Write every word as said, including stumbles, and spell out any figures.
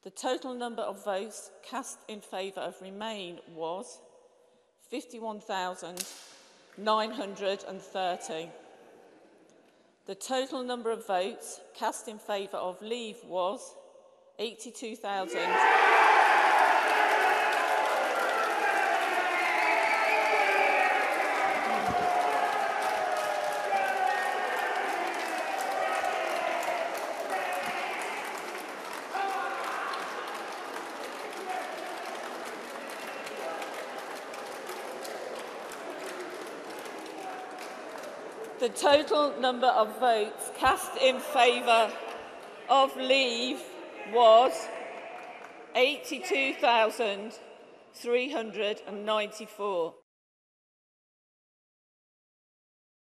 The total number of votes cast in favour of Remain was fifty-one thousand nine hundred thirty. The total number of votes cast in favour of Leave was eighty-two thousand. The total number of votes cast in favour of Leave was eighty-two thousand three hundred ninety-four.